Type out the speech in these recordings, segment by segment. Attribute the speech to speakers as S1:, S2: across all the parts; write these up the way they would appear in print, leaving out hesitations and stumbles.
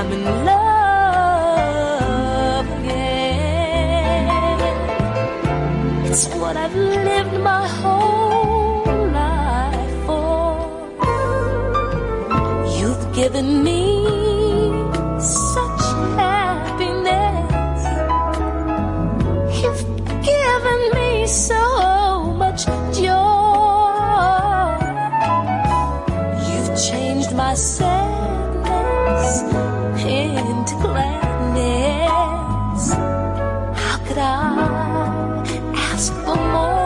S1: I'm in love again. It's what I've lived my whole life for. You've given me such happiness. You've given me so much joy. You've changed my sadness into gladness. How could I ask for more?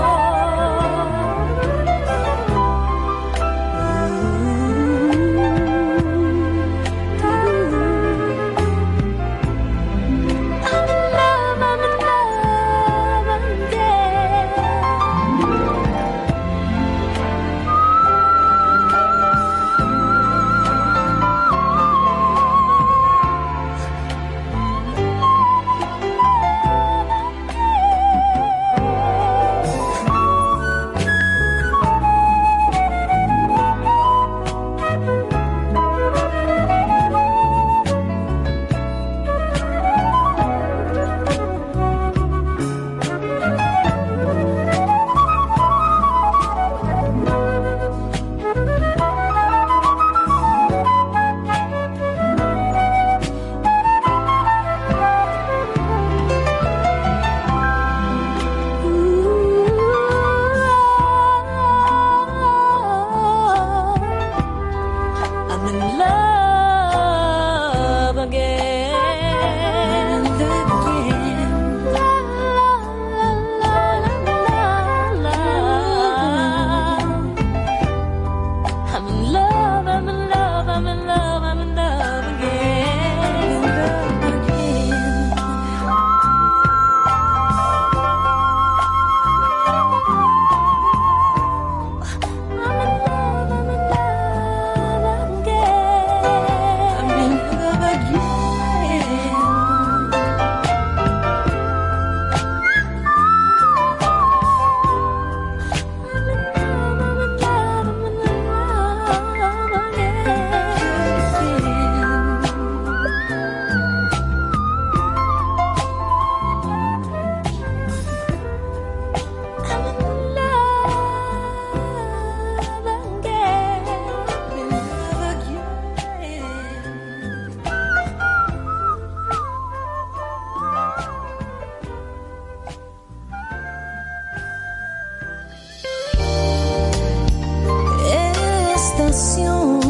S2: Estación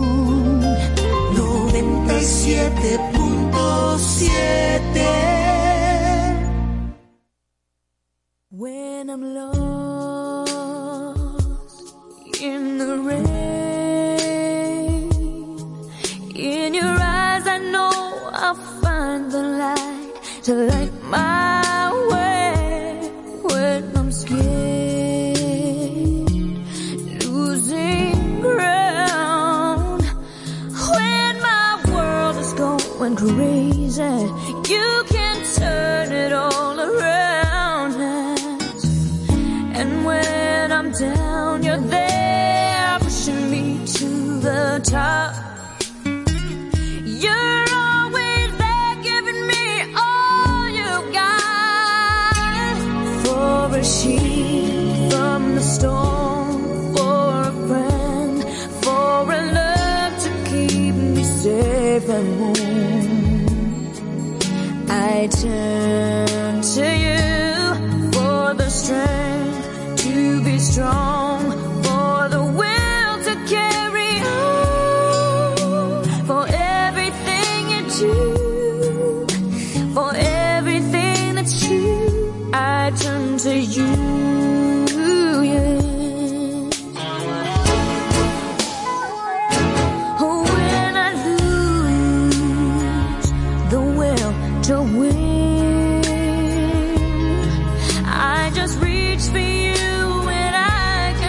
S2: 97.7. When I'm lost in the rain, in your eyes I know I'll find the light to light my way. When I'm scared, losing ground, when my world is going crazy, you can turn it all around. And when I'm down, you're there pushing me to the top. You're always there giving me all you got. For a sheep from the storm, for a friend, for a love to keep me safe and warm, I turn to you for the strength to be strong, for the will to carry on, for everything you do, for everything that's true, I turn to you, yeah. When I lose the will to win, I just reach for you and I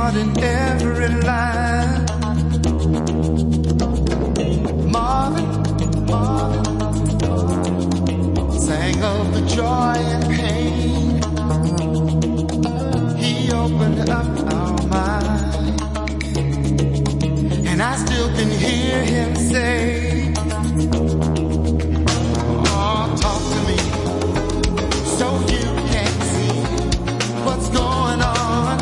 S3: heart in every line. Marvin sang of the joy and pain. He opened up our mind, and I still can hear him say, oh, talk to me so you can see what's going on.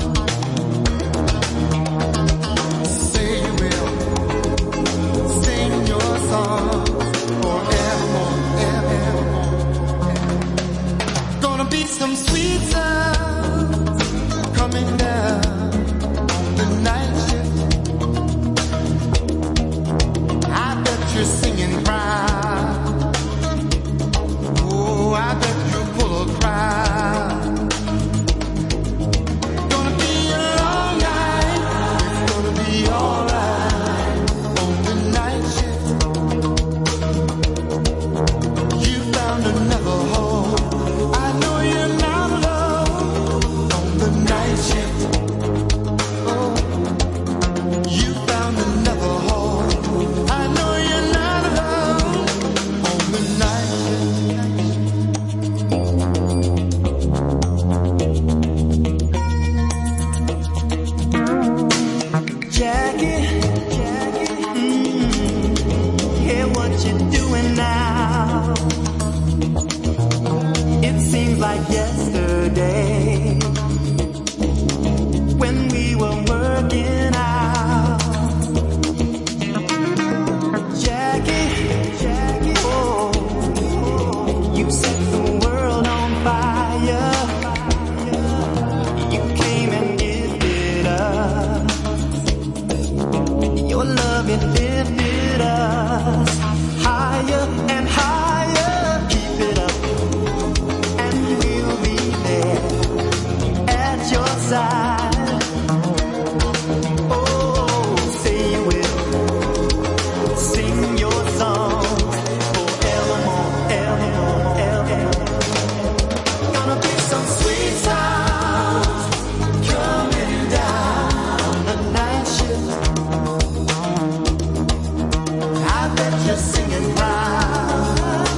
S3: Say you will sing your song forevermore, evermore. Gonna be some sweet sounds coming down the night shift. I bet you're singing proud. Oh, I bet you're full of pride. Gonna be a long night. It's gonna be alright on the night shift. You found another home. I know you're not alone on the night shift. Oh, you found another home. I know you're not alone on the night shift. Jackie, hear what you're doing now. It seems like yesterday when we were working out. Jackie, oh, you set the world on fire. You came and gifted us. Your love, it lifted us higher and higher. Keep it up, and we'll be there at your side. Oh, say you will sing your song forevermore, evermore, evermore. Gonna be some sweet sounds coming down the night shift. I bet you're singing proud.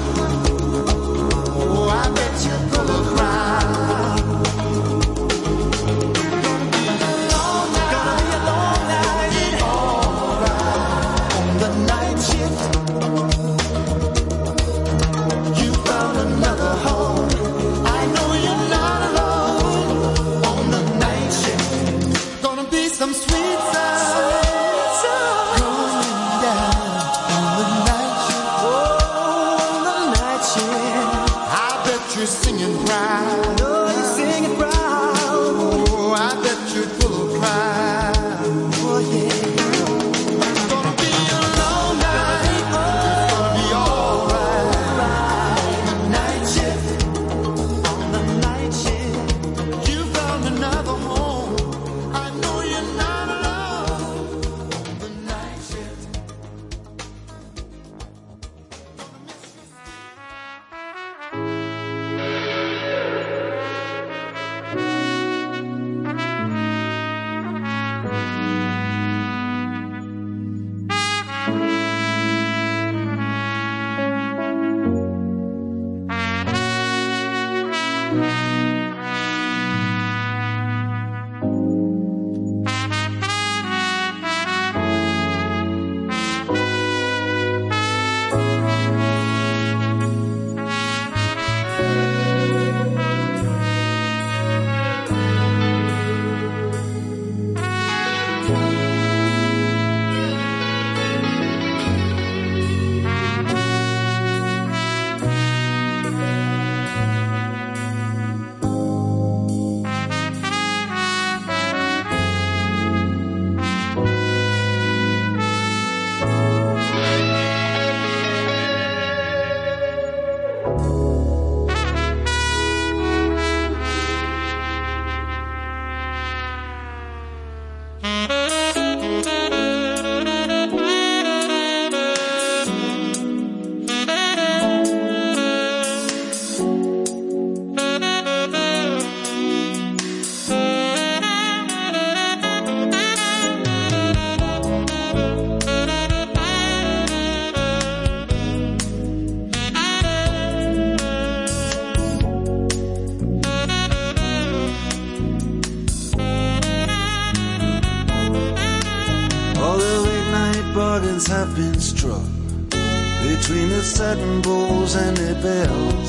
S3: bargains have been struck between the Saturn bulls and their bells.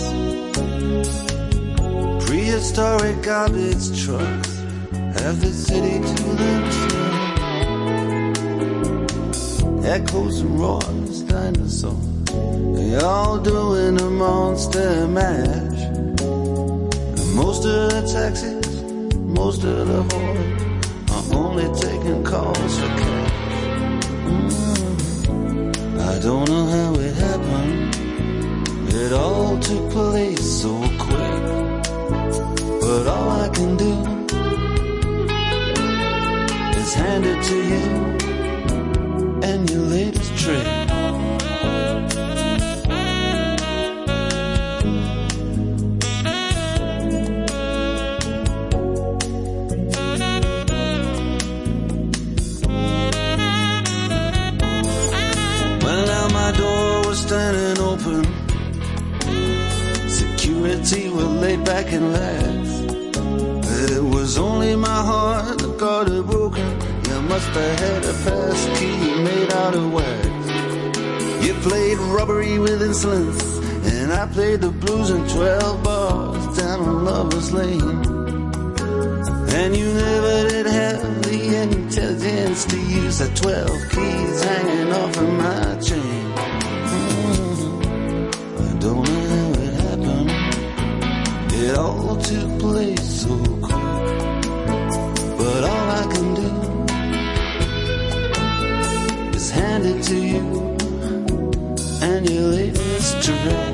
S3: Prehistoric garbage trucks have the city to themselves. Echoes and roars, dinosaurs, they all doing a monster mash. And most of the taxis, most of the whores are only taking calls for cash. I don't know how it happened, it all took place so quick. But all I can do is hand it to you and your latest trick. Well, now my door was standing open, security were laid back and lax. It was only my heart that got it broken. You must have had a pass key made out of wax. You played robbery with insolence, and I played the blues in 12 bars down on Lover's Lane. And you never did have the intelligence to use the 12 keys hanging off of my chain. I don't know how it happened, it all took place so quick. But all I can do is hand it to you and your latest trick.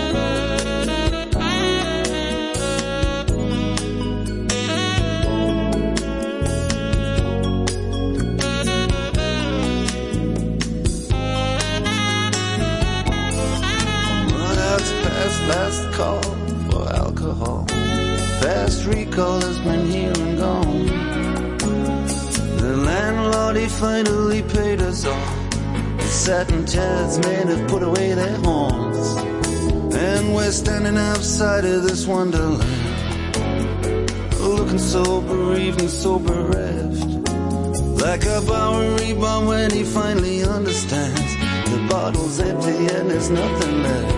S3: Well, that's past last call for alcohol. Fast recall has been here and gone. The landlord, he finally paid us all. The satin chairs men have put away their horns, and we're standing outside of this wonderland, looking so bereaved and so bereft, like a Bowery bomb when he finally understands the bottle's empty and there's nothing left.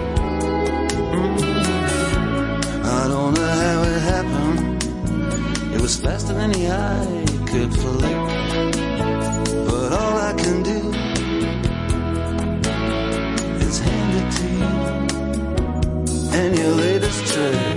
S3: I don't know how it happened, it was faster than the eye could flick. But all I can do is hand it to you and your latest trick.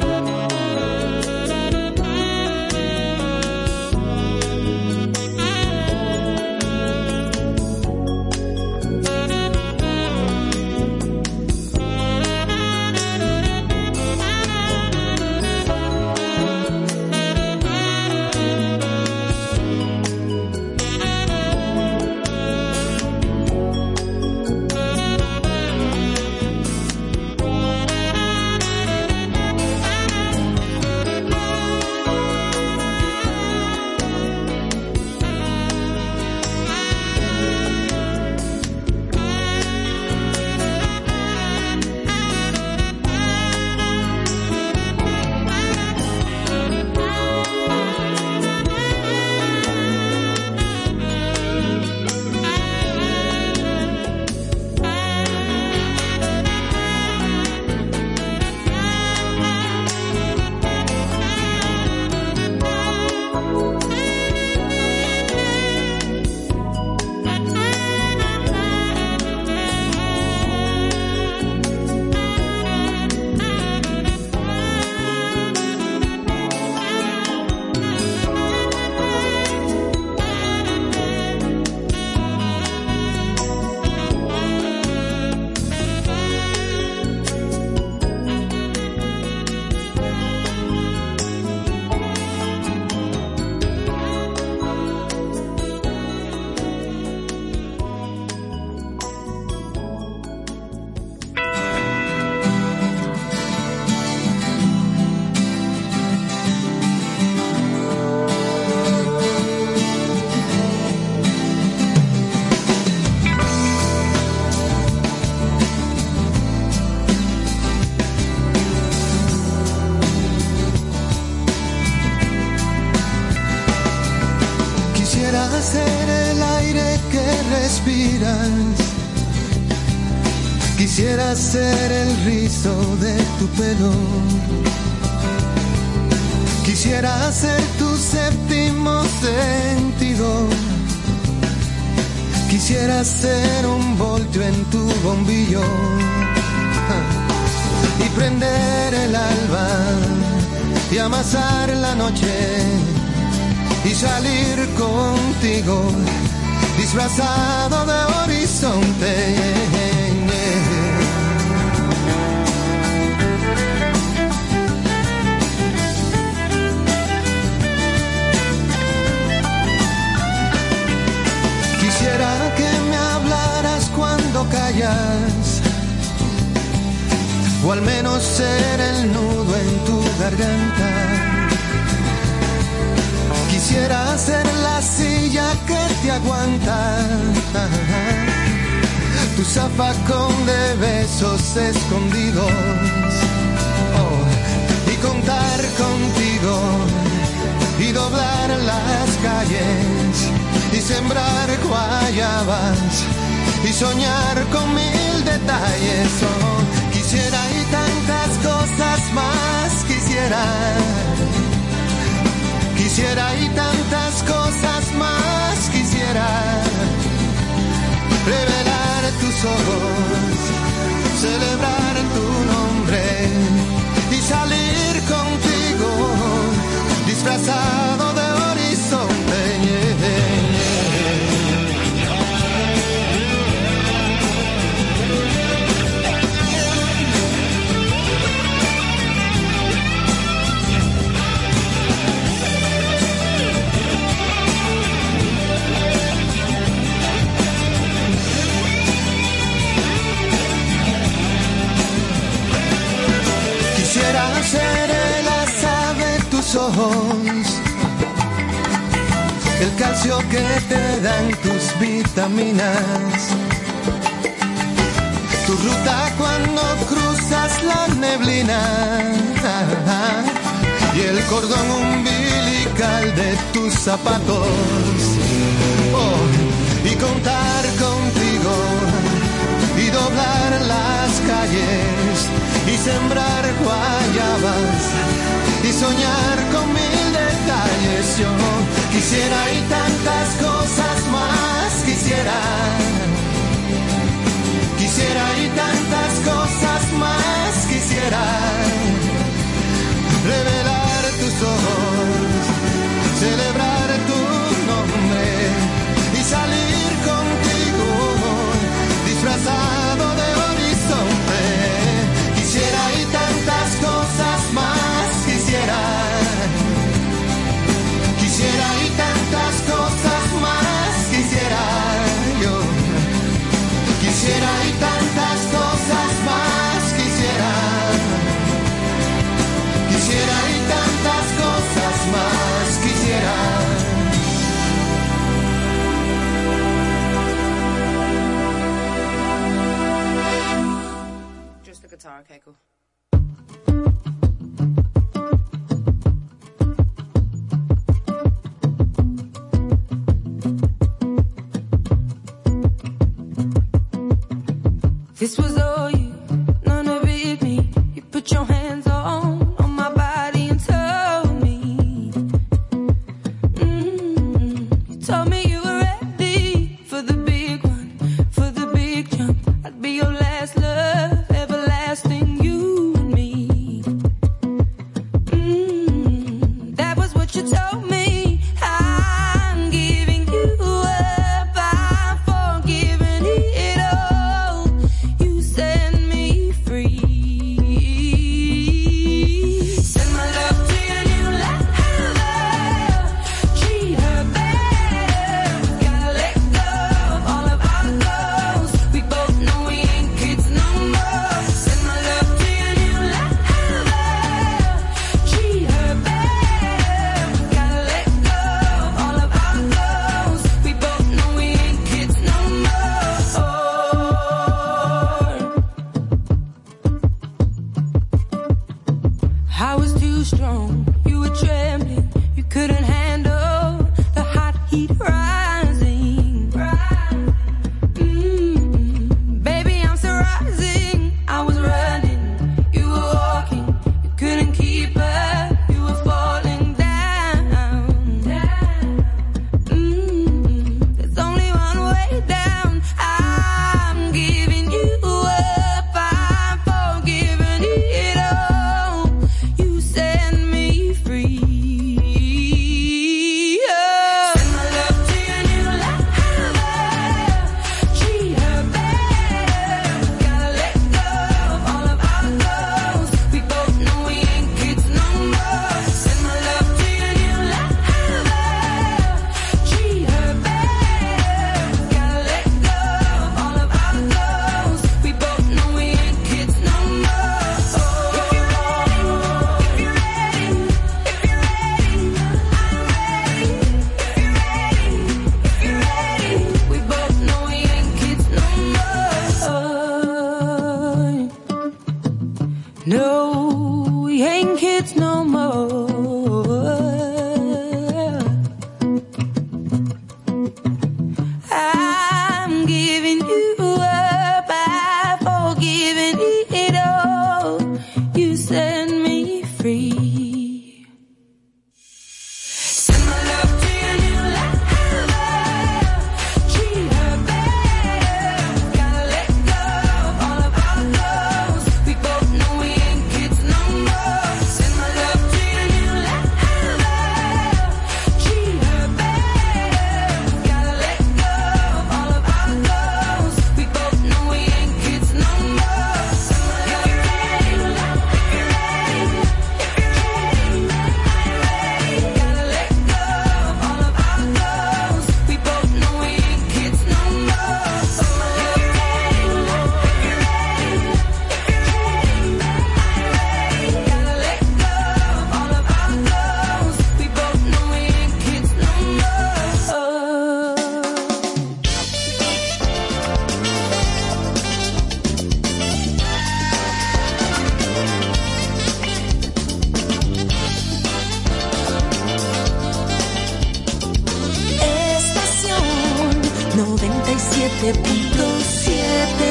S3: respiras. Quisiera ser el rizo de tu pelo. Quisiera ser tu séptimo sentido. Quisiera ser un voltio en tu bombillo y prender el alba y amasar la noche y salir contigo disfrazado de horizonte. Quisiera que me hablaras cuando callas, o al menos ser el nudo en tu garganta. Quisiera ser la silla que te aguanta, tu zafacón de besos escondidos, y contar contigo y doblar las calles y sembrar guayabas y soñar con mil detalles. Quisiera y tantas cosas más quisiera. Quisiera y tantas cosas más quisiera. Revelar tus ojos, celebrar tu nombre y salir contigo disfrazado de horizonte. Quisiera ser el asa de tus ojos, el calcio que te dan tus vitaminas, tu ruta cuando cruzas la neblina y el cordón umbilical de tus zapatos. Y contar contigo y doblar las calles y sembrar guayabas y soñar con mil detalles. Yo quisiera y tantas cosas más quisiera. Quisiera y tantas cosas más quisiera. Revelar tus ojos, celebrar tu nombre y salir contigo disfrazado de horizonte. Quisiera y tantas cosas más quisiera. Quisiera y tantas cosas más quisiera yo. Quisiera y tantas cosas más quisiera. Quisiera y tantas cosas más quisiera.
S4: Just the guitar, okay, cool.
S2: This was all you, none of it me. You put your hands on my body and told me. You told me you were ready for the big one, for the big jump. I'd be your last love, everlasting, you and me. That was what you told me. I'm giving you up, I'm forgiving it all. You said 97.7.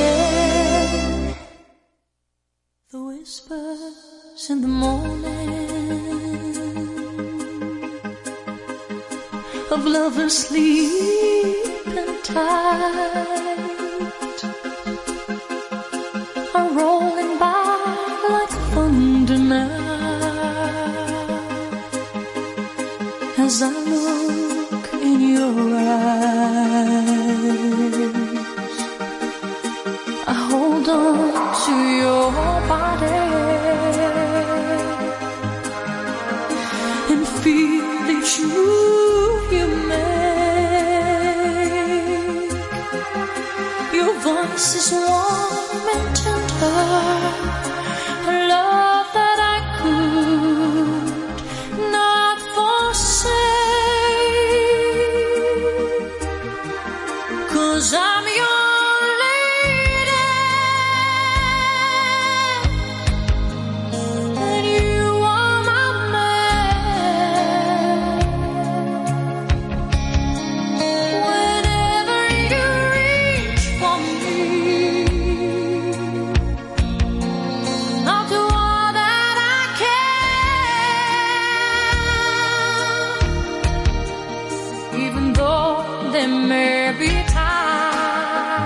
S2: The whispers in the morning of lovers sleeping tight are rolling by like thunder now as I look in your eyes. I hold on to your body and feel each move you make. Your voice is warm and tender, a love that I could not forsake. 'Cause I'm your lady and you are my man. Whenever you reach for me, I'll do all that I can, even though there may be times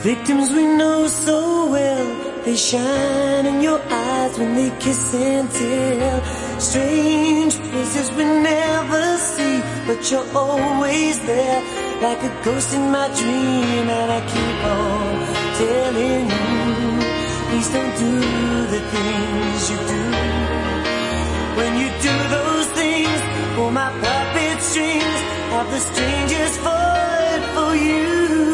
S4: victims we know so well, they shine in your eyes when they kiss and tell. Strange places we never see, but you're always there, like a ghost in my dream. And I keep on telling you, please don't do the things you do. When you do those things, pull my puppet strings, have the strangers fall for you.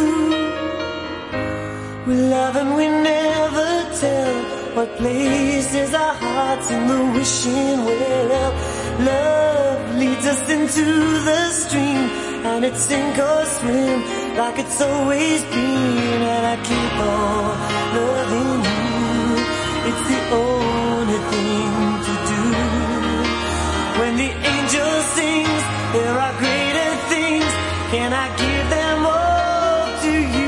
S4: We love and we never tell what places our hearts in the wishing well. Love leads us into the stream, and it's sink or swim like it's always been. And I keep on loving you, it's the only thing to do. When the angel sings, there are greater things, can I give them all to you?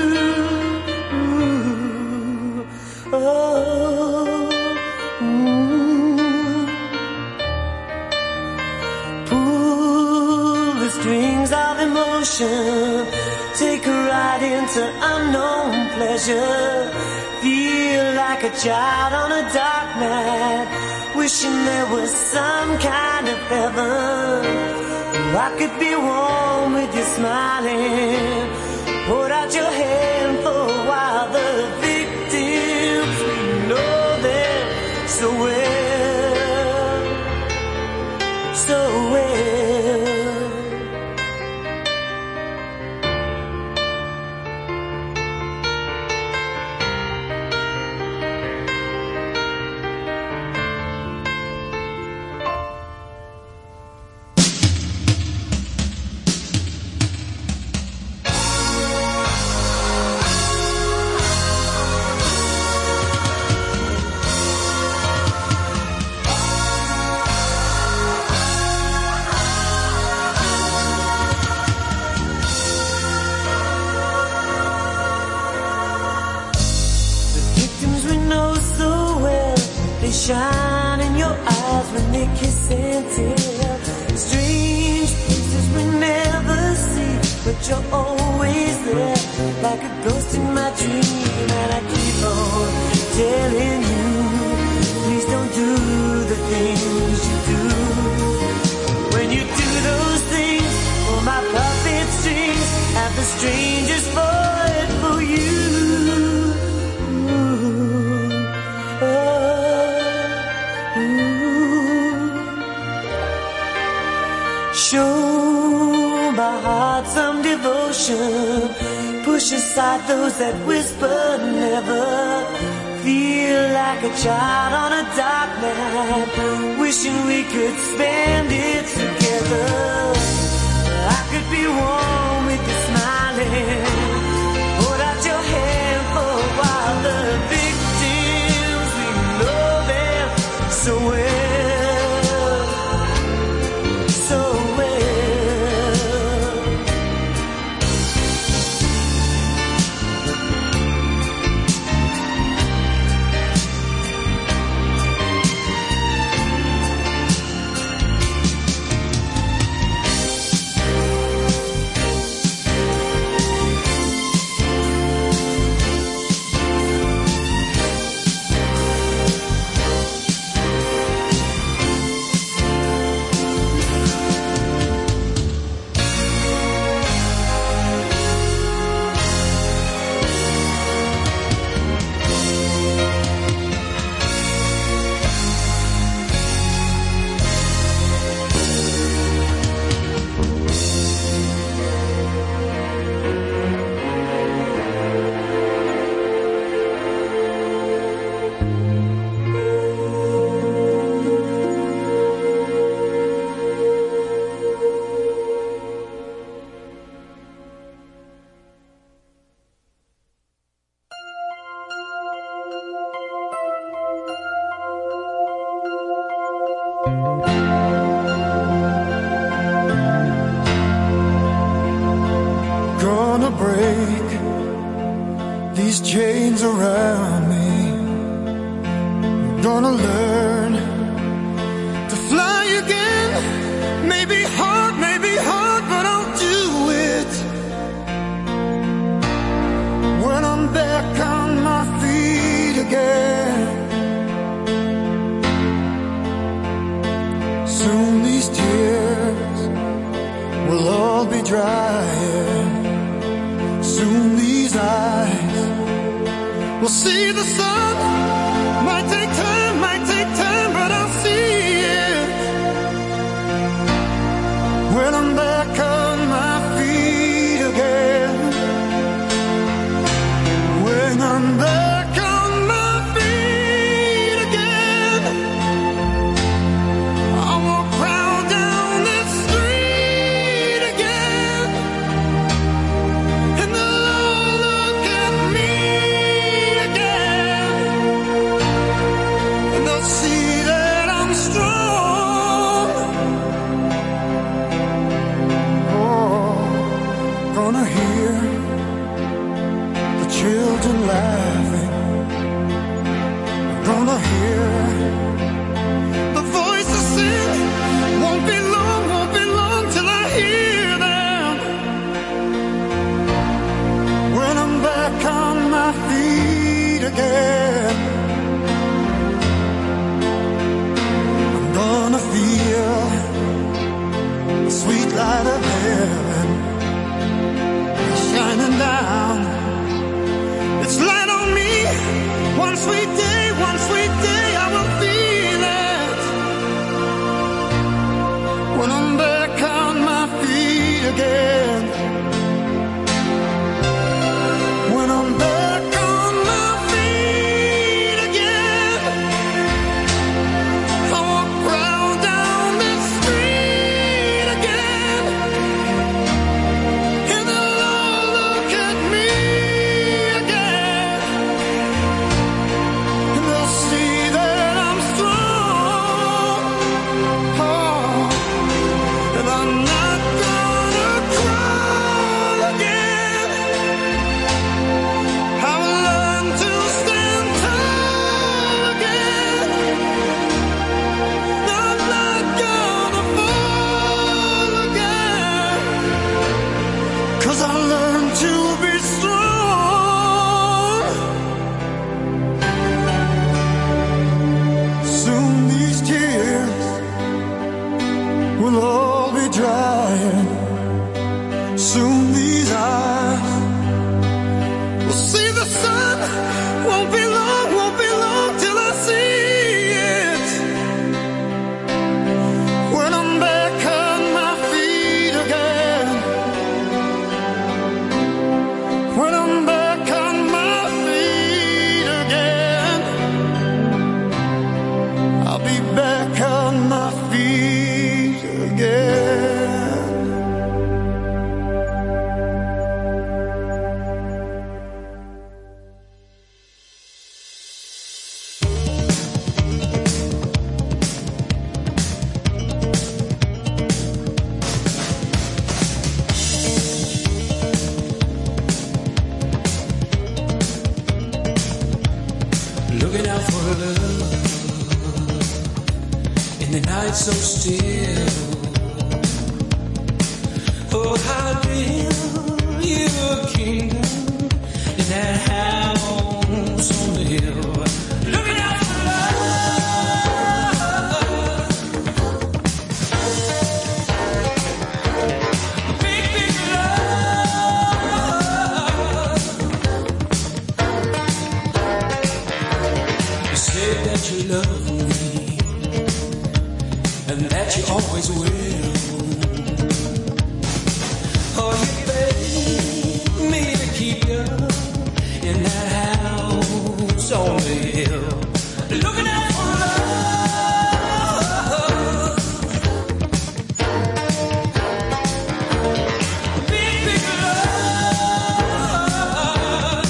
S4: Pull the strings of emotion, take a ride into unknown pleasure. Feel like a child on a dark night, wishing there was some kind of heaven. I could be warm with you smiling, hold out your hand for a while. The victims, we know them so well, so well. Shine in your eyes when they kiss and tell. Strange places we never see, but you're always there, like a ghost in my dream. And I keep on telling you, please don't do the things you do. When you do those things, pull my puppet strings, have the strangers fall for you. Show my heart some devotion, push aside those that whisper never. Feel like a child on a dark night, wishing we could spend it together. I could be warm with you smiling, hold out your hand for a while. The victims, we know them so well.
S3: Gonna break these chains around me. Gonna learn to fly again. Maybe hard, but I'll do it. When I'm again. I'm gonna feel the sweet light of heaven shining down. It's light on me. One sweet day I will feel it. When I'm back on my feet again. When I'm back on my feet again. I walk round down the street again. And they'll all look at me again. And they'll see that I'm strong. Oh, and I'm not gonna cry again. I will learn to stand tall again. I'm not gonna fall again. 'Cause I learned to be strong. Soon these tears will all be drying. Soon these eyes will see the sun. Won't be long till I see it. When I'm back on my feet again. When I'm back on my feet again. I'll be back on my feet again.
S5: Looking out for love in the night so still. Oh, how to build you a kingdom in that house on the hill. Looking out for love, big, big love. You said that you love me and that you always will. Oh, you begged me to keep you in that house on the hill. Looking out for love, big, big love.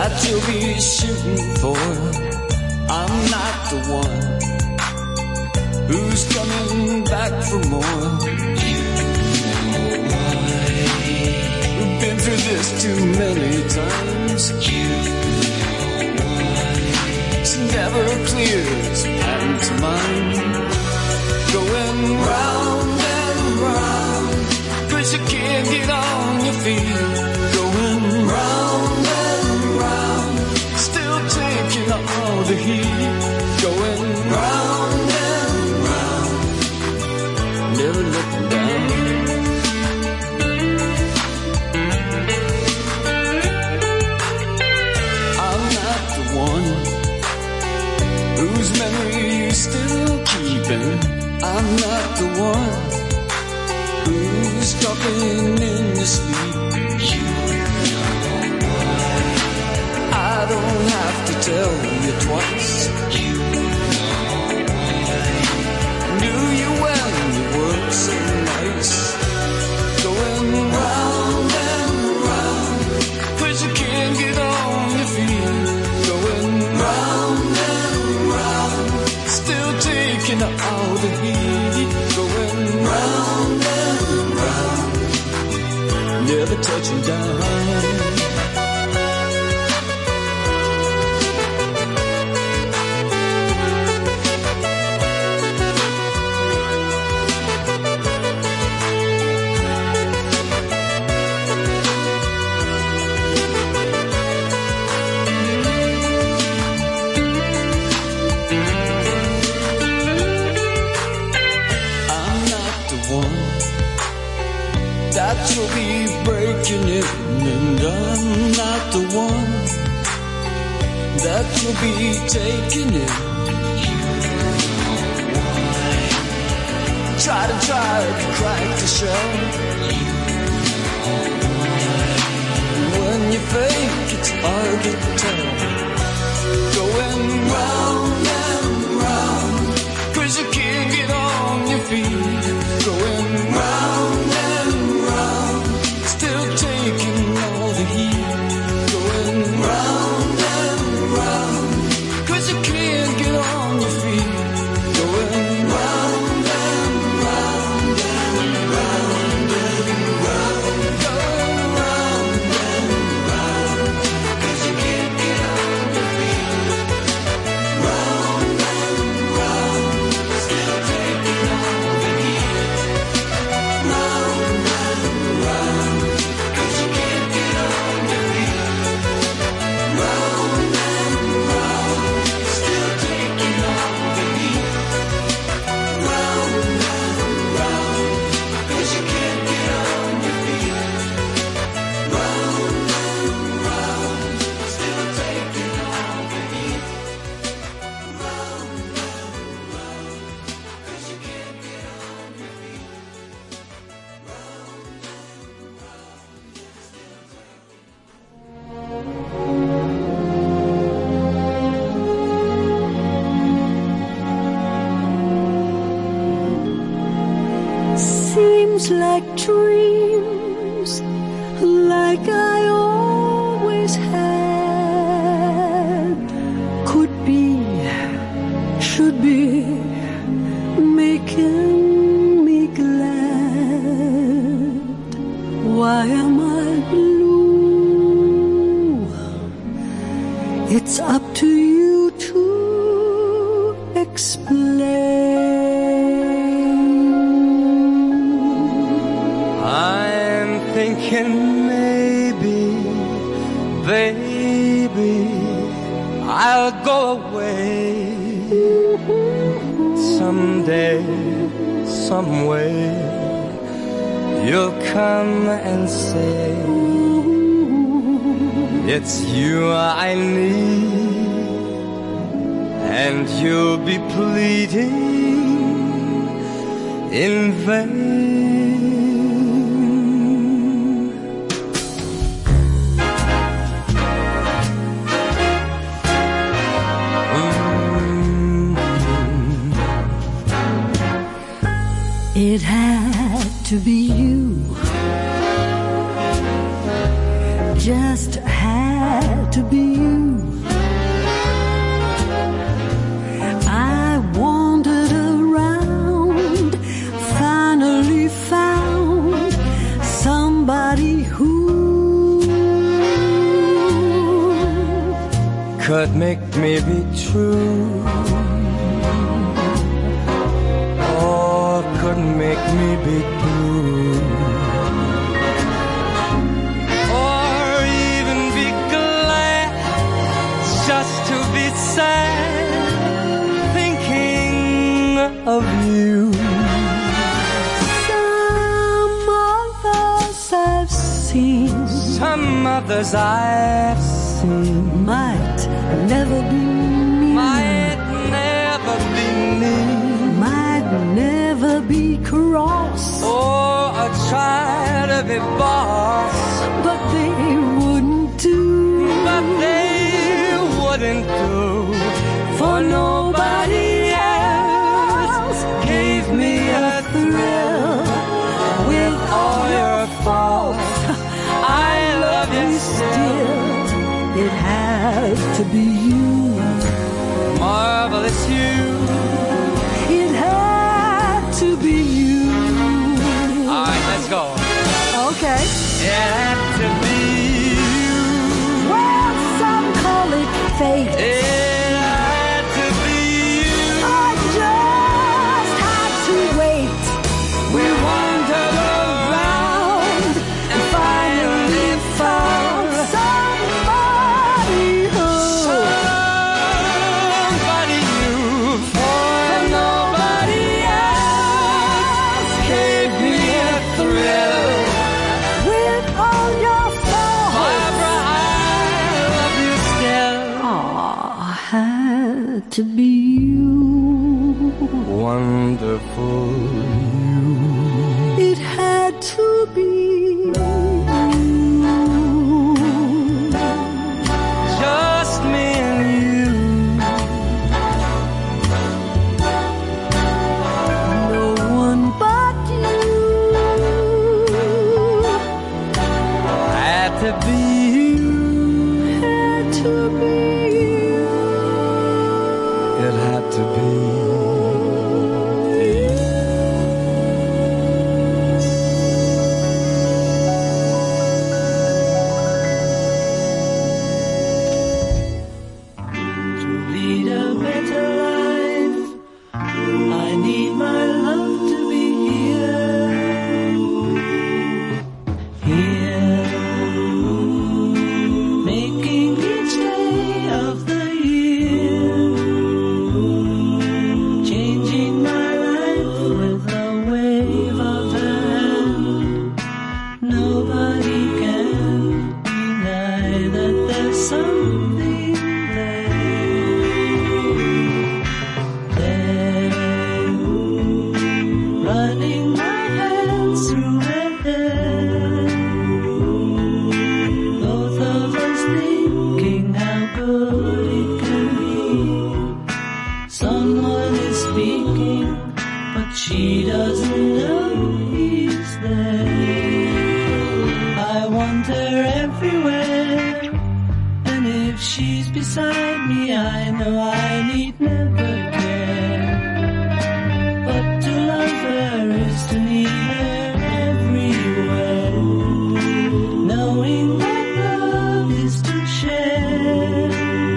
S5: that you'll be shooting for. I'm not the one who's coming back for more. You know why? We've been through this too many times. You know why? It's never clear, it's pattern to mind. Going round and round, 'cause you can't get on your feet. Going round and round, still taking all the heat. Going round and round, never looking down. I'm not the one whose memory you still keeping. I'm not the one who's talking in your sleep. You know why? I don't have to tell you twice. You know why? Knew you when you were so nice. Going round and round, 'cause you can't get on your feet. Going round and round, still taking all the heat. Going round and round, never touching down. That you'll be breaking in, and I'm not the one that you'll be taking in. You know why? Try to crack the shell. You know why? When you fake, it's hard to tell. Going round and round, 'cause you can't get on your feet. Going round and round, still taking all the heat. Going round and round, 'cause you can't get on your feet. Going round and round and round and round. Going round and round, 'cause you can't get on your feet. Round and round, still taking all the heat. Round and round, 'cause you can't get on your feet. Round and round, still taking all the heat. Round and round, 'cause you can't get on your feet. Round and round, still taking all the heat. Round and round, 'cause you can't get on your feet.
S2: Seems like dreams, like I always had, could be, should be, making me glad. Why am I blue? It's up to you to explain.
S4: I'm thinking maybe, baby, I'll go away someday, someway. You'll come and say it's you I need, and you'll be pleading in vain.
S2: It had to be you.
S6: just had to be you. I wandered around, finally found somebody who
S4: could make me be true, or could make me be blue, or even be glad just to be sad thinking of you.
S6: Some others I've seen,
S4: some others I've seen
S6: might never be me,
S4: might never be me,
S6: might never be cross,
S4: or I try to be boss,
S6: but they wouldn't do,
S4: but they wouldn't do, for nobody else gave me a thrill. With all your faults, I love you still.
S6: It had to be you,
S4: marvelous you.
S6: It had to be you.
S4: All right, let's go.
S6: Okay.
S4: It had to be you.
S6: Well, some call it fate.
S4: It had to be you.
S6: I just had to wait.
S4: We wandered around and finally found somebody new, for nobody else gave me a thrill.
S6: with all your faults.
S4: Barbara, I love you still.
S6: Aw, had to be you.
S4: Wonderful you.
S6: It had to be you.
S4: Just me and you.
S6: No one but you.
S4: Had to be you.
S6: Had to be you.
S4: It had to be you.
S5: To lead a better life, I need my love to be here, making each day of the year, changing my life with a wave of the hand. Nobody can deny that there's something there, running my hands through her hair, both of us thinking how good it can be. Someone is speaking, but she doesn't know he's there. I want her everywhere, and if she's beside me, I know I need never care. But to love her is to need her everywhere, knowing that love is to share.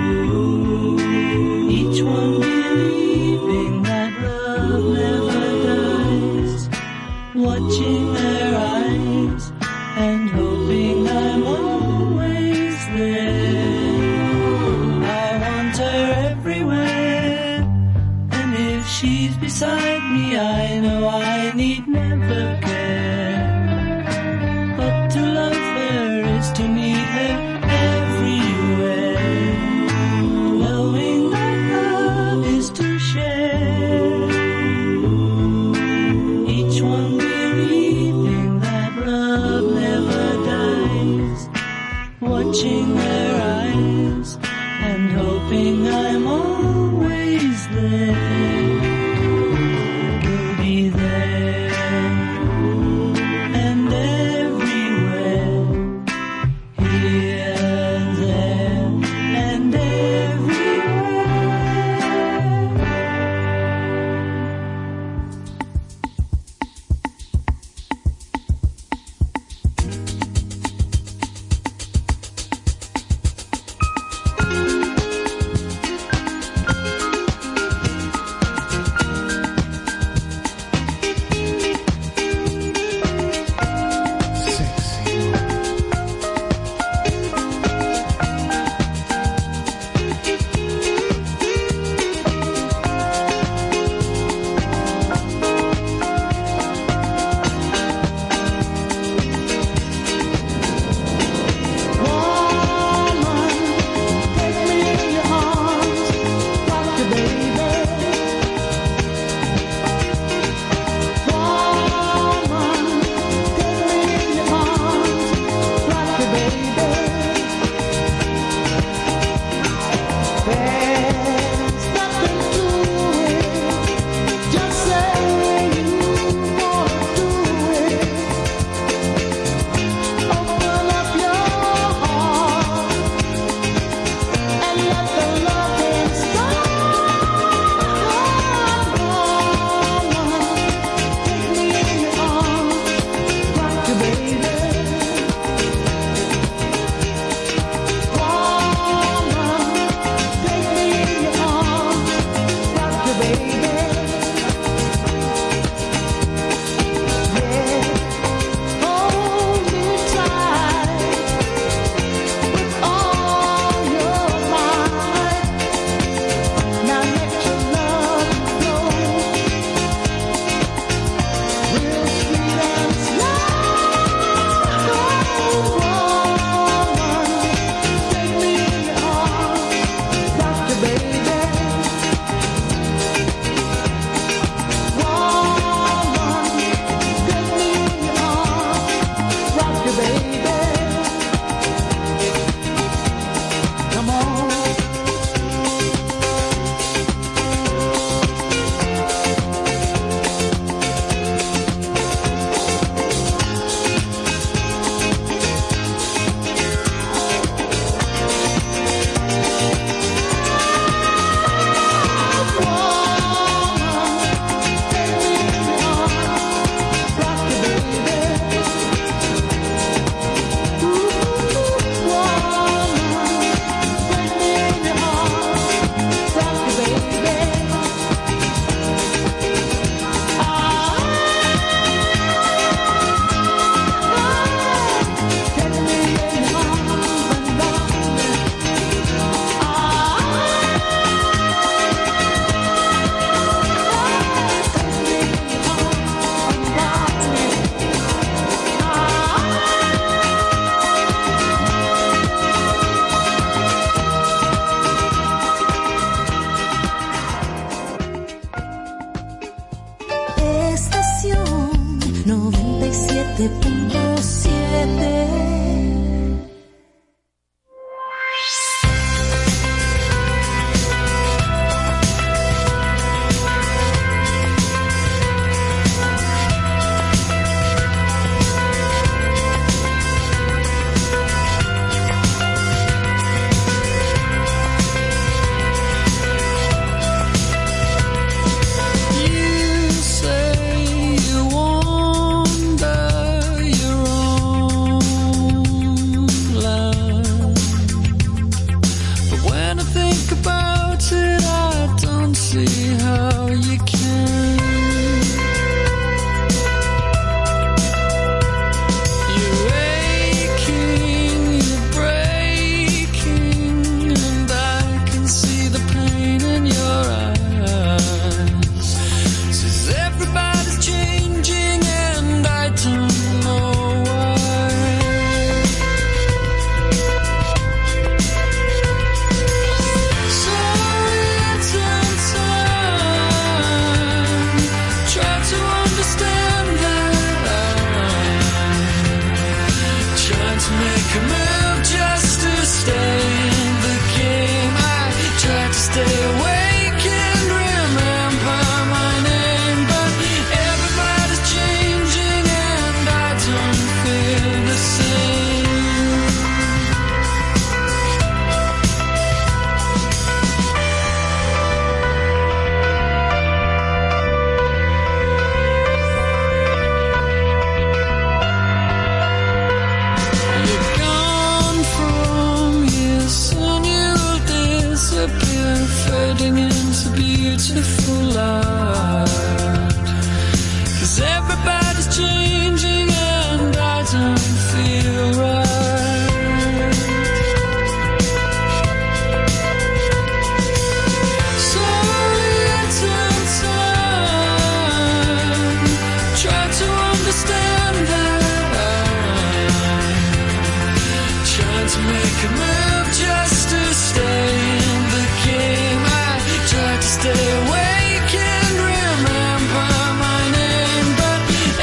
S5: Each one believing that love never dies, watching their eyes and hoping I'm always there. I want her everywhere, and if she's beside me, I know I need never care. But to love her is to need her everywhere, knowing that love is to share. Each one believing that love never dies, watching their eyes and hoping I'm always there. You'll be there.
S2: 97.7.
S5: Stay awake and remember my name, but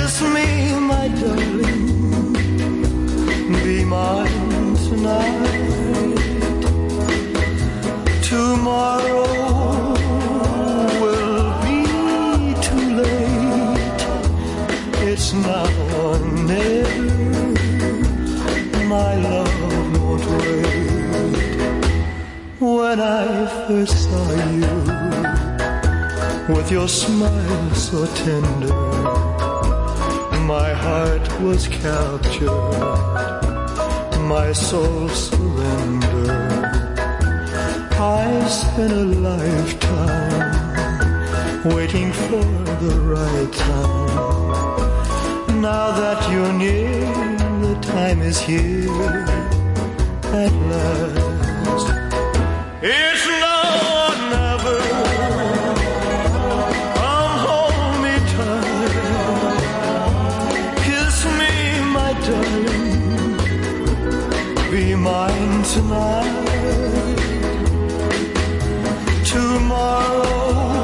S3: Kiss me, my darling, be mine tonight. Tomorrow will be too late. It's now or never. My love won't wait. When I first saw you, with your smile so tender, my heart was captured, my soul surrendered. I spent a lifetime waiting for the right time. Now that you're near, the time is here at last. It's now or never. Come hold me tight. Kiss me, my darling. Be mine tonight. Tomorrow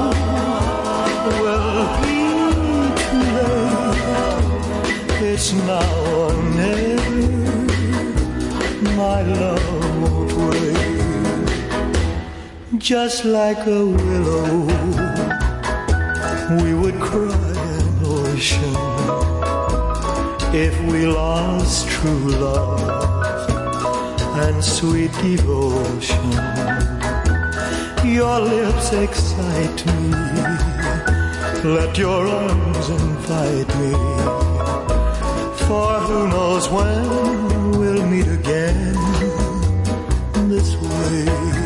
S3: will be too late. It's now or never. My love won't wait. Just like a willow, we would cry an ocean if we lost true love and sweet devotion. Your lips excite me, let your arms invite me, for who knows when we'll meet again this way.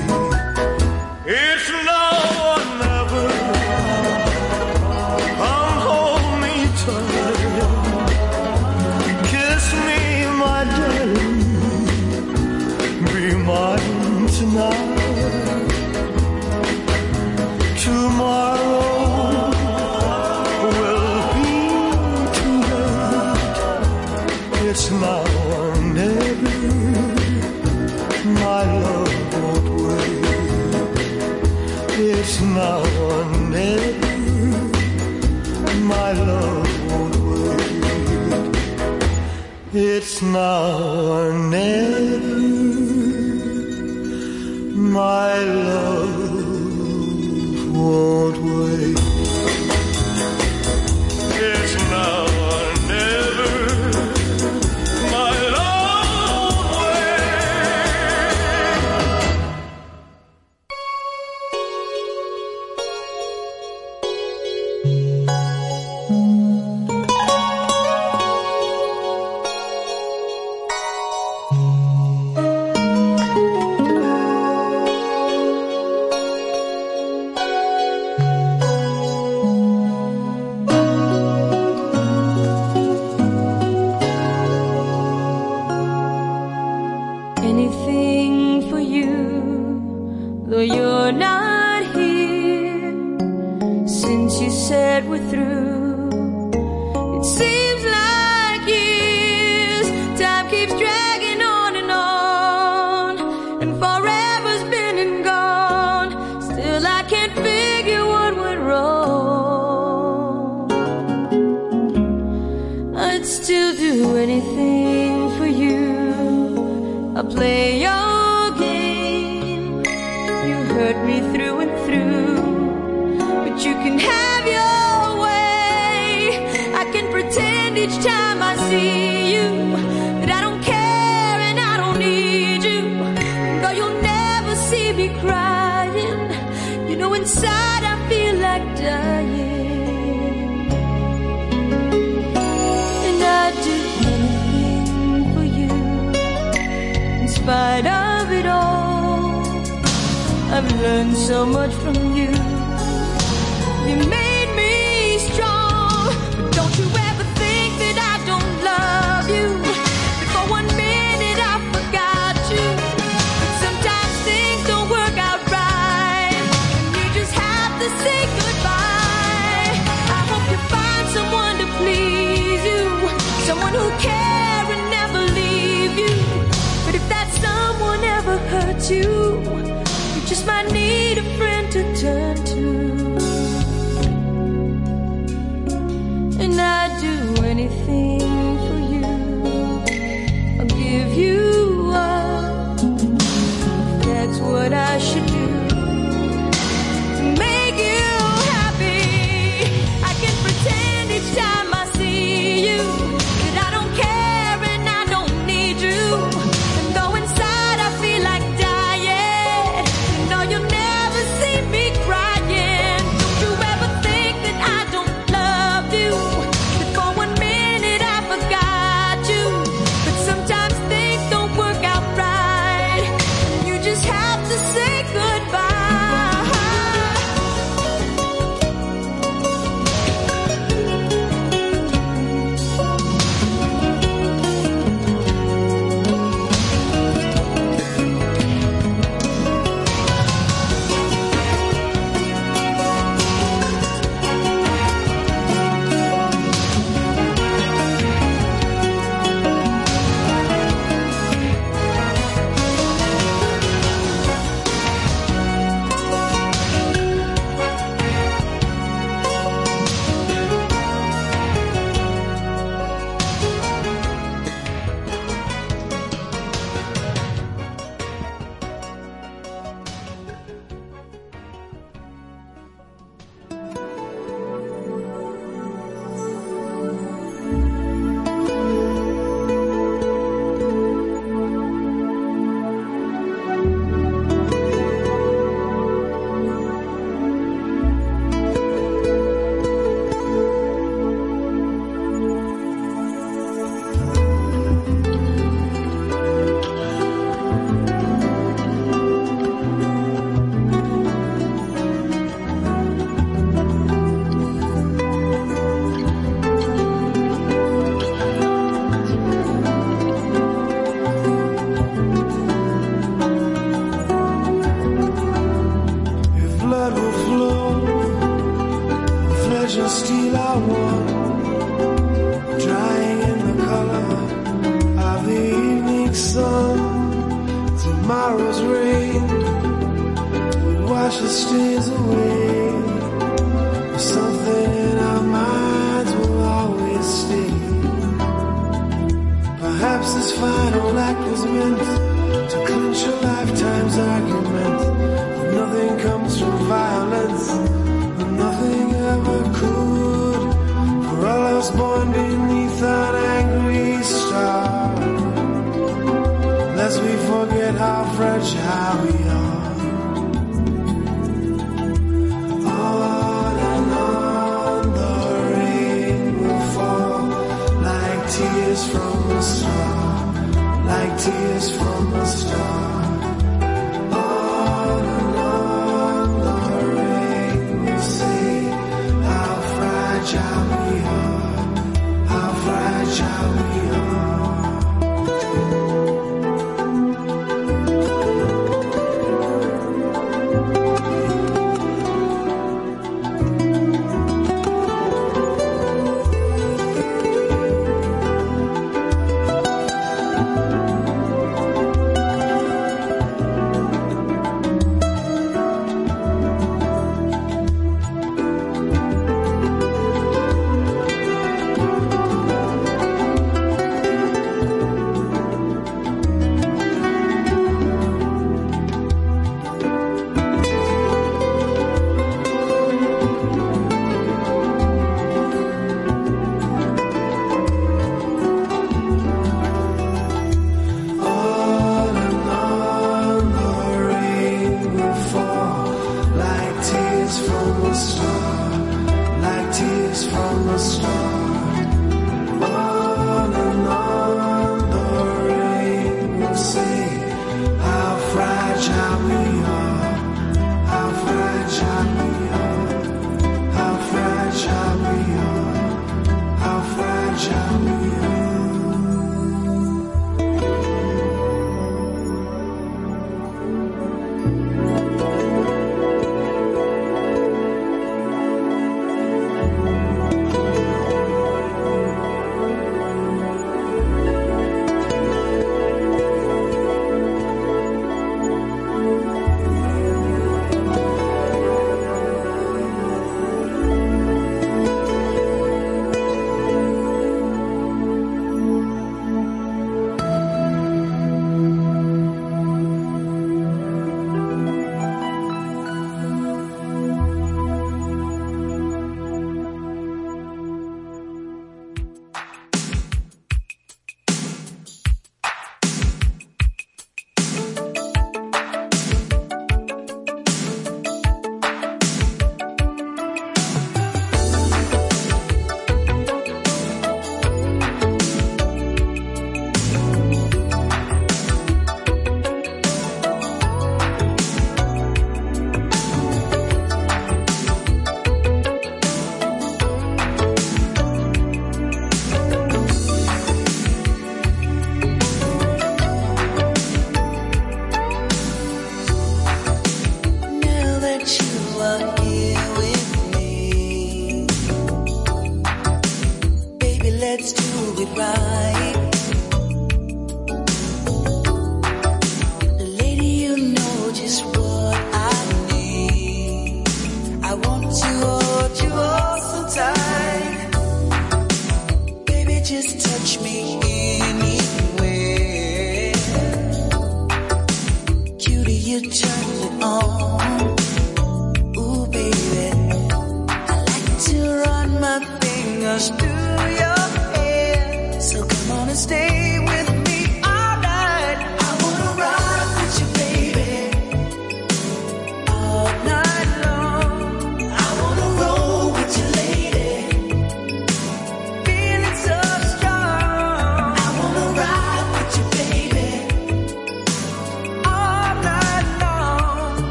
S3: It's now or never. Come hold me tight. Kiss me, my darling. Be mine tonight. Tomorrow will be too late. It's now or never. My love won't wait. It's now or never. My love won't wait. It's now or never. My love won't wait. It's now or never. My love won't
S2: Anything for you, though you're not here. Since you said we're through, it seems like years. Time keeps dragging on, and forever's been and gone. Still I can't figure what went wrong. I'd still do anything for you. I'll play your game. You hurt me through and through, but you can have your way. I can pretend each time I see you that I don't care and I don't need you. Though you'll never see me crying, you know inside I feel like dying. And I'd do anything for you. In spite of it all, I've learned so much from you. You made me strong. But don't you ever think that I don't love you. That for 1 minute I forgot you. But sometimes things don't work out right, and you just have to say goodbye. I hope you find someone to please you, someone who care and never leave you. But if that someone ever hurts you, you just might need a friend to turn to. And I'd do anything
S3: pleasure steal our one, drying in the color of the evening sun. Tomorrow's rain will wash the stains away. Something in our minds will always stay. Perhaps this final act was meant to clinch a lifetime's argument. But nothing comes from violence, and nothing ever could. For all us born beneath an angry star, lest we forget how fragile we are. On and on the rain will fall like tears from a star, like tears from a star. On and on the rain will say how fragile we are, how fragile we are.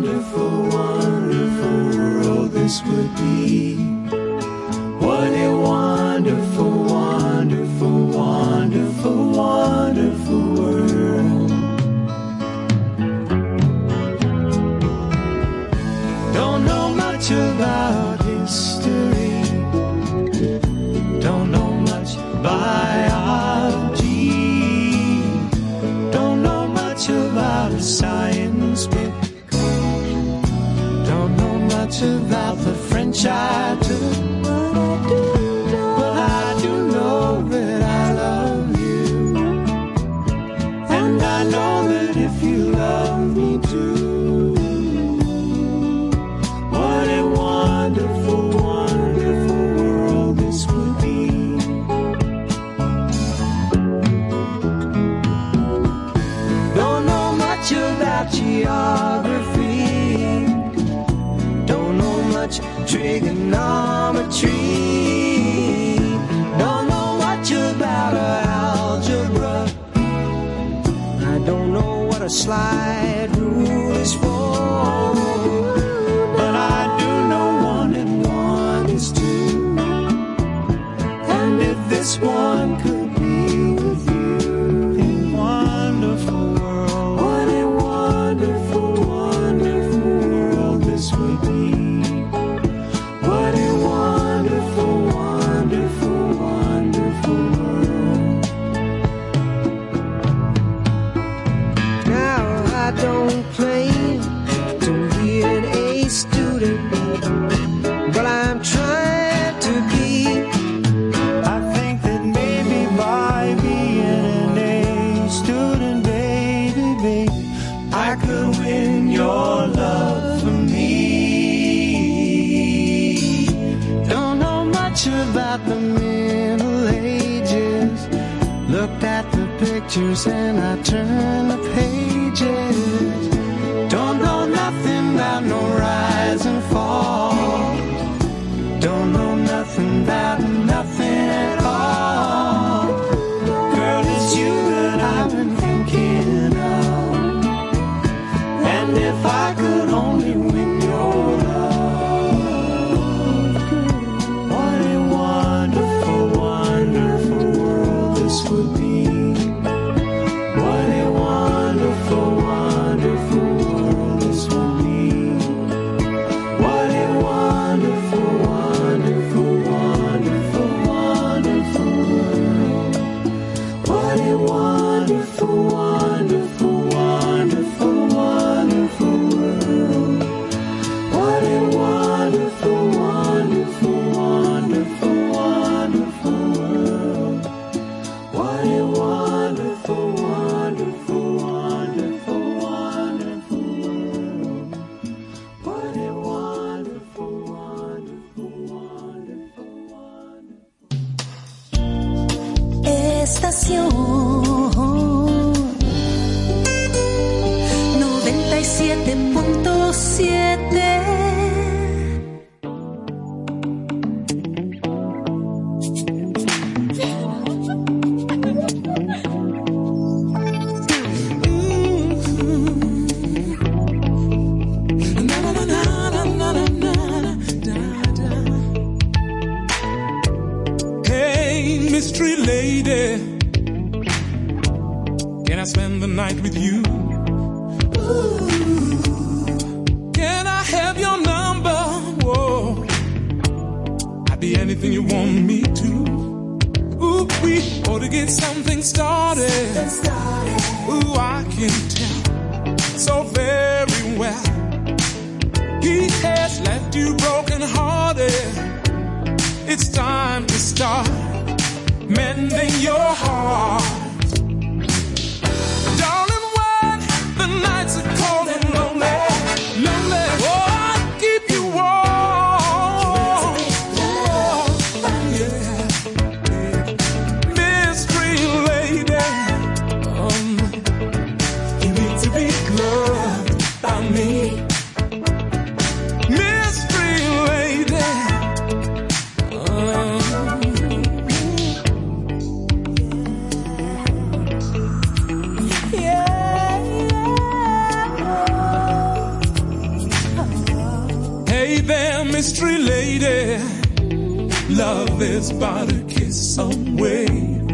S3: wonderful, wonderful world this would be. What a wonderful, wonderful, wonderful, wonderful world. Don't know much about history, don't know much biology, don't know much about science book, don't know much about the French I took. But I do know that I love you, and I know that if you love me too, what a wonderful, wonderful world this would be. Don't know much about geography, don't know much trigonometry, don't know much about algebra, I don't know what a slide rule is for, but I do know 1 and 1 is 2, and if this one could be with you, a wonderful world, what a wonderful, wonderful world this would be. What a wonderful, wonderful, wonderful world. Now I don't claim to be an A student, but I'm trying to be. I think that maybe by being an A student, baby, I could win your love for me. Don't know much about the Middle Ages, looked at the pictures and I turned the pages. Don't know nothing about no rise and fall, don't know nothing about nothing at all. Girl, it's you that I've been thinking of, and if I could only win your love, what a wonderful, wonderful world this would be. What a wonderful, wonderful world this would be. What a wonderful, wonderful, wonderful, wonderful world. What a wonderful, wonderful, wonderful, wonderful world. What a wonderful, wonderful, wonderful, wonderful world. What a wonderful, wonderful, wonderful, wonderful world. What a wonderful, wonderful, wonderful, wonderful.
S1: Estación 97.7.
S7: Hey, mystery lady, can I spend the night with you? Can I have your number? Whoa, I'd be anything you want me to. Ooh, we ought to get something started. Ooh, I can tell so very well. He has left you broken hearted. It's time to start mending your heart. Darling, when the nights are cold and lonely, lonely, oh, I'll keep you warm. Yeah. Mystery lady, you need to be loved by me. Mystery lady, mystery lady. Love is but a kiss away.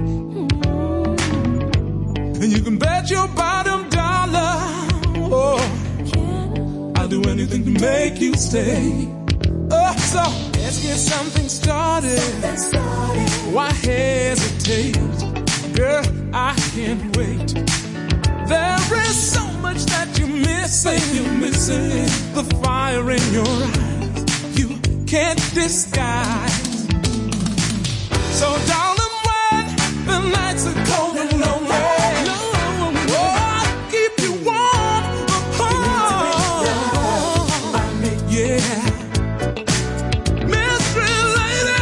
S7: And you can bet your bottom dollar, oh, I'll do anything to make you stay. Oh, so let's get something started. Why hesitate? Girl, I can't wait. There is so much that you're missing. You're missing the fire in your eyes. You can't disguise. So darling, when the nights are cold and lonely, oh, I'll keep you warm. Oh, yeah. Mystery lady,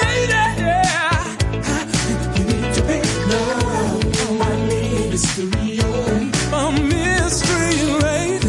S7: yeah. You need to be loved. I need mystery, a mystery lady.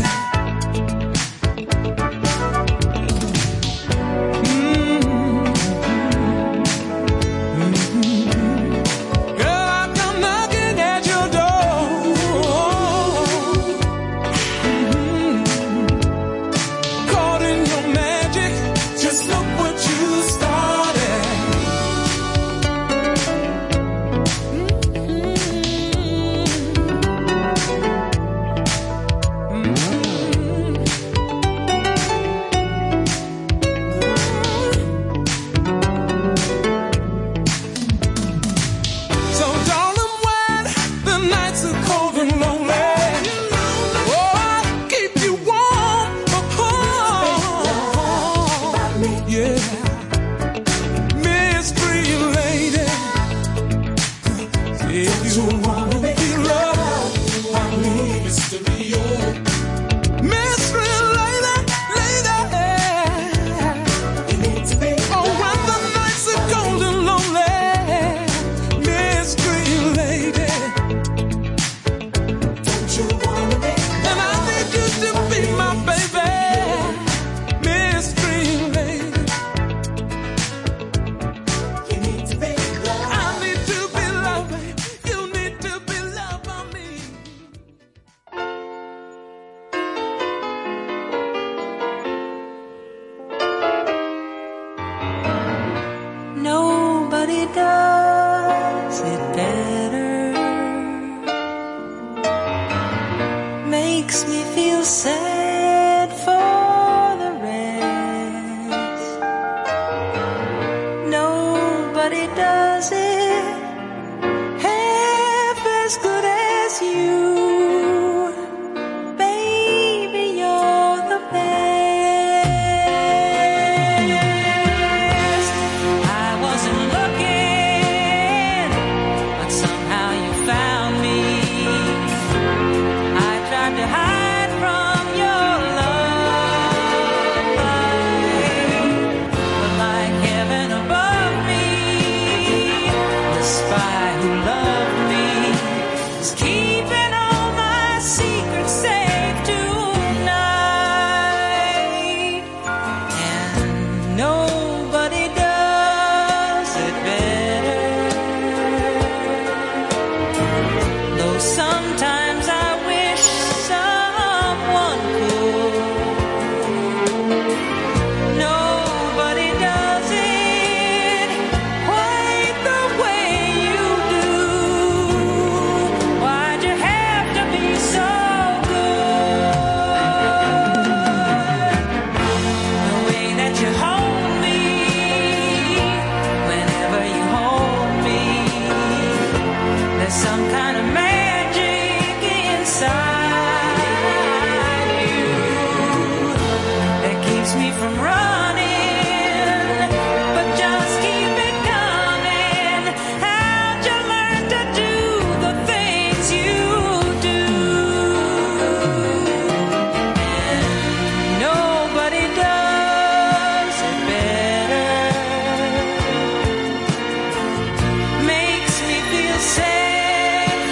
S2: Makes me feel sad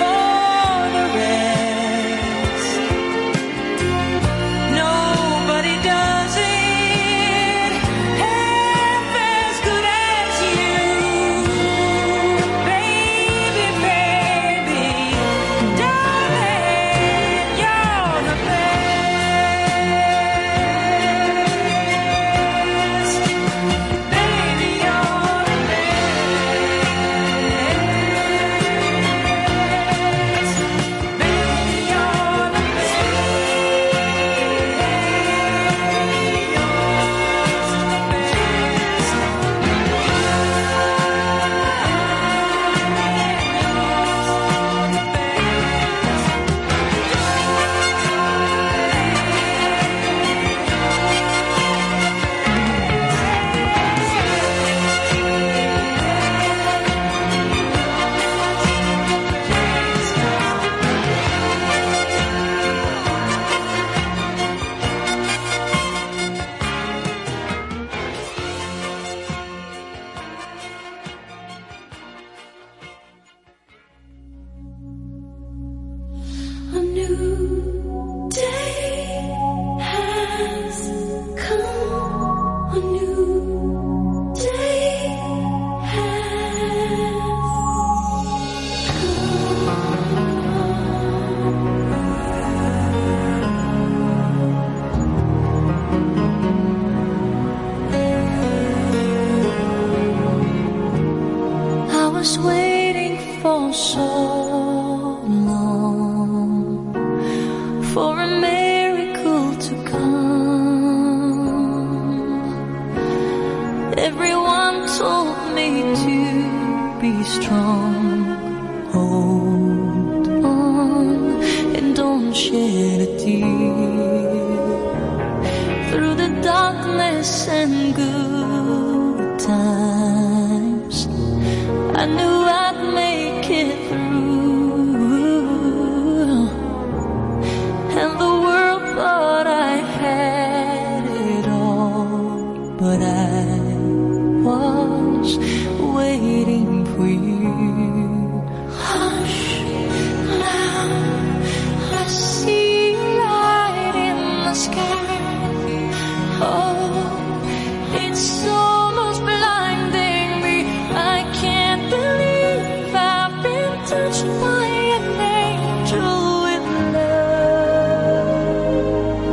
S2: for so long for a miracle to come. Everyone told me to be strong, hold on, and don't shed a tear. Through the darkness and good times, I knew I'd make it through, and the world thought I had it all, but I was waiting for you. Hush, now I see a light in the sky. Oh, it's almost blinding me. I can't believe I've been touched by an angel with love.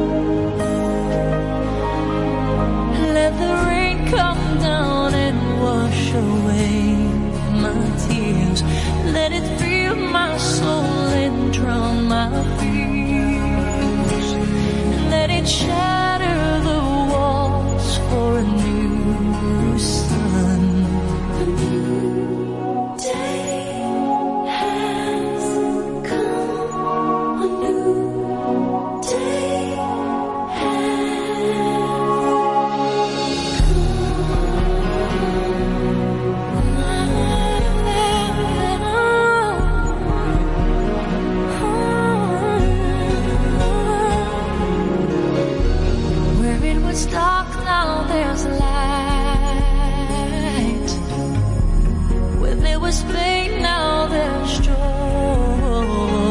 S2: Let the rain come down and wash away my tears. Let it fill my soul and drown my fears. Let it shatter the walls for a new sun. A new day has come. A new day Where it was dark, now there's light. Where there was pain, now there's joy.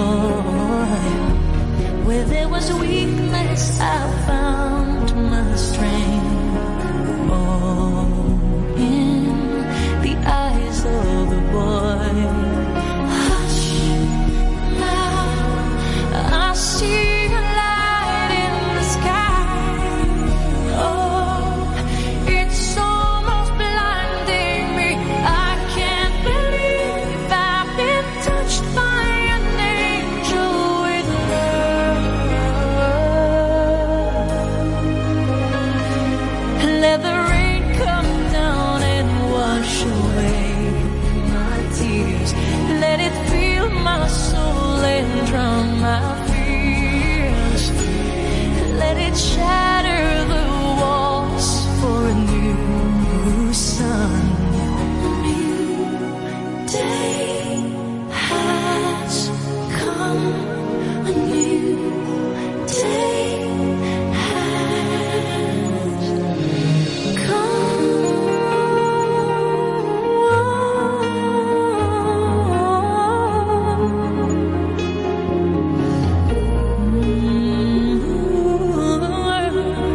S2: Where there was weakness, I found my strength. Oh, in the eyes of the boy. Hush, now I see a light in the sky. Oh, it's almost blinding me. I can't believe I've been touched by an angel with love. Let the rain come down and wash away my tears. Let it fill my soul and drown my fears. Let it shatter the walls for a new sun. A new day has come. A new day has come.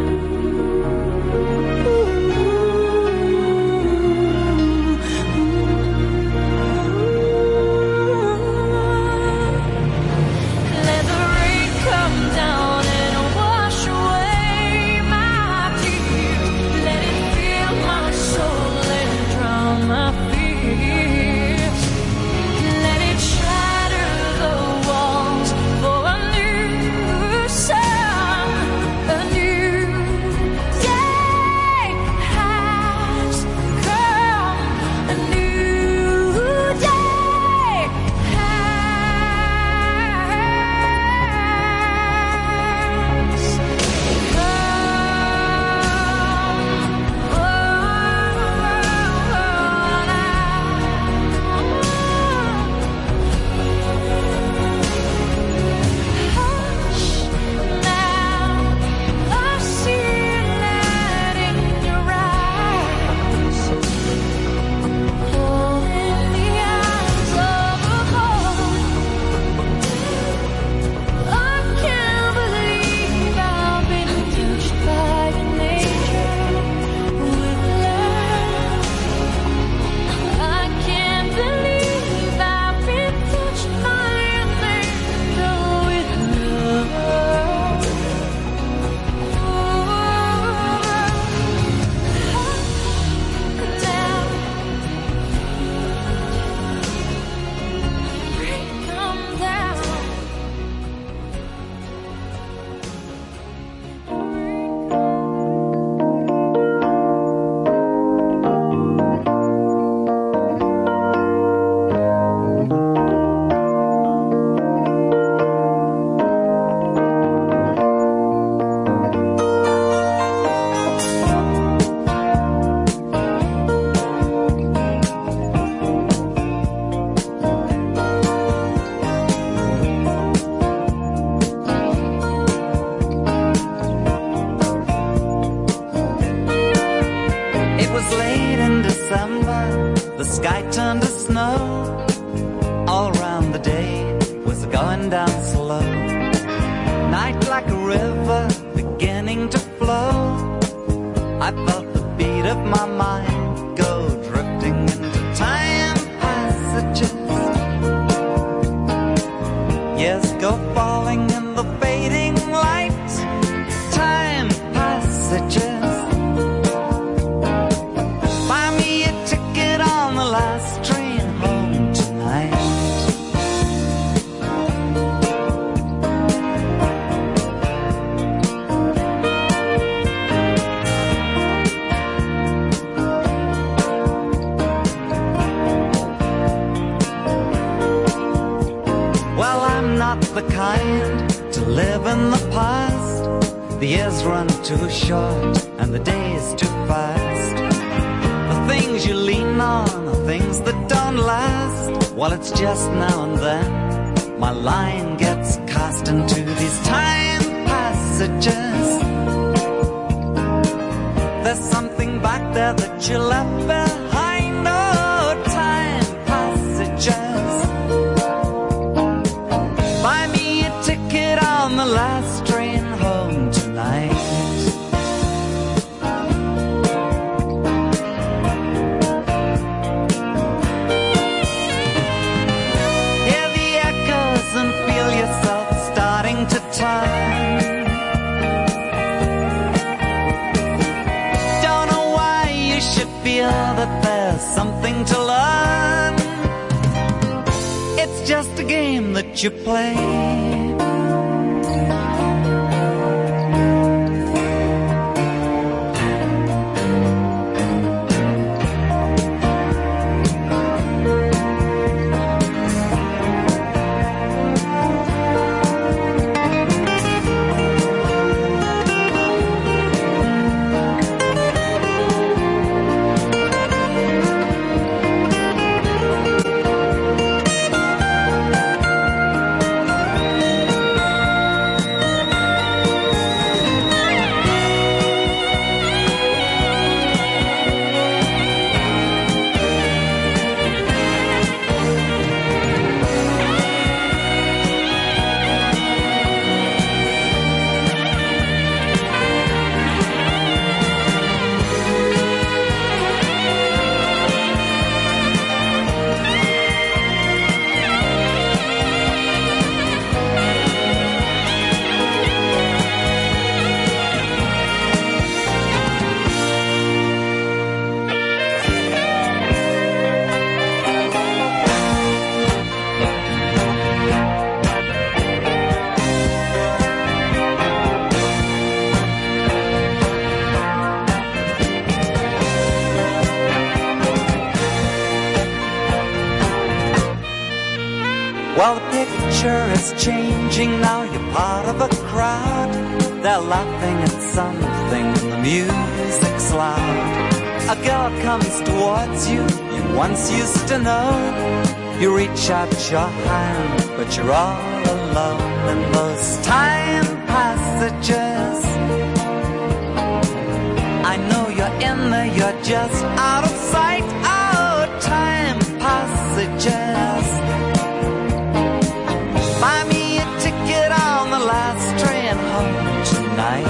S8: river beginning to flow. I felt the beat of my mind go drifting into time passages. Yes, go falling in the fading light. Time passages. Buy me a ticket on the last train home tonight. Well, I'm not the kind to live in the past. The years run too short and the days too fast. The things you lean on are things that don't last. Well, it's just now and then my line gets cast into these time passages. There's something back there that you left behind. Oh, time passages. Buy me a ticket on the last train home tonight. Hear the echoes and feel yourself starting to turn. Don't know why you should feel that there's something to learn. It's just a game that you play. Well, the picture is changing now. You're part of a crowd. They're laughing at something. The music's loud. A girl comes towards you. You once used to know. You reach out your hand, but you're all alone in those time passages. I know you're in there. You're just out of sight. Oh, time passages. Buy me a ticket on the last train home tonight.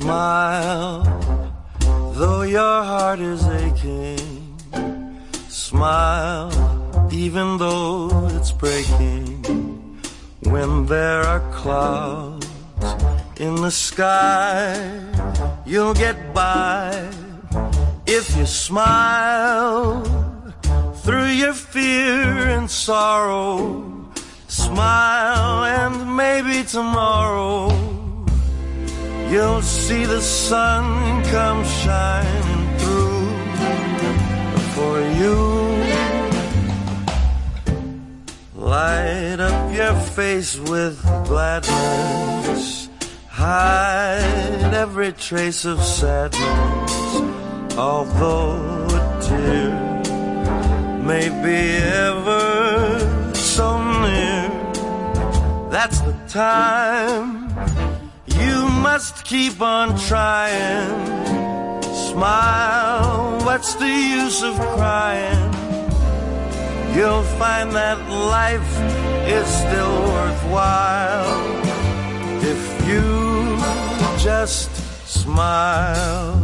S9: Smile, though your heart is aching. Smile, even though it's breaking. When there are clouds in the sky, you'll get by if you smile through your fear and sorrow. Smile and maybe tomorrow you'll see the sun come shining through for you. Light up your face with gladness. Hide every trace of sadness. Although a tear may be ever so near, that's the time you must keep on trying. Smile, what's the use of crying? You'll find that life is still worthwhile if you just smile.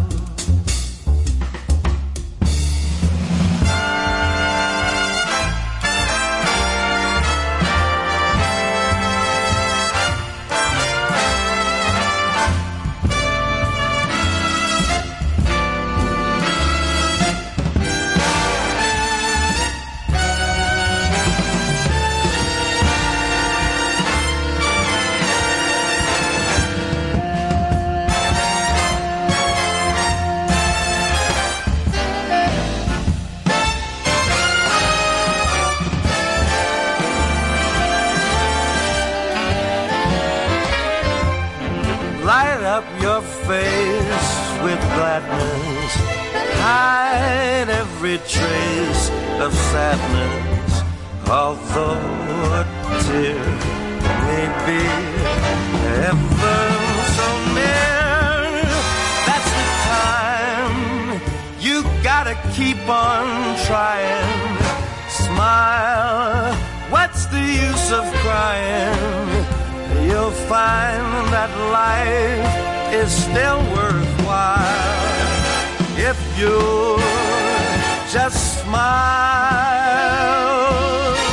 S9: Your face with gladness. Hide every trace of sadness. Although a tear may be ever so near, that's the time you gotta keep on trying. Smile, what's the use of crying? You'll find that life is still worthwhile if you just smile.